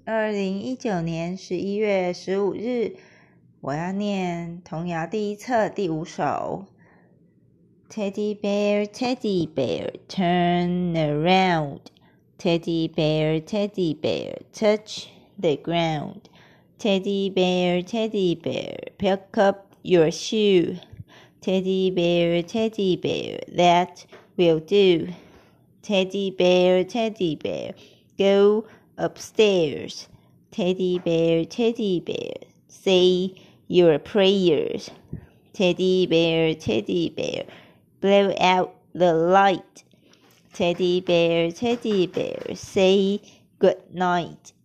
2019年11月15日，我要念童谣第一册第5首。Teddy bear, teddy bear, turn around. Teddy bear, touch the ground. Teddy bear, pick up your shoe. Teddy bear, that will do. Teddy bear, go upstairs. Teddy bear, say your prayers. Teddy bear, blow out the light. Teddy bear, say good night.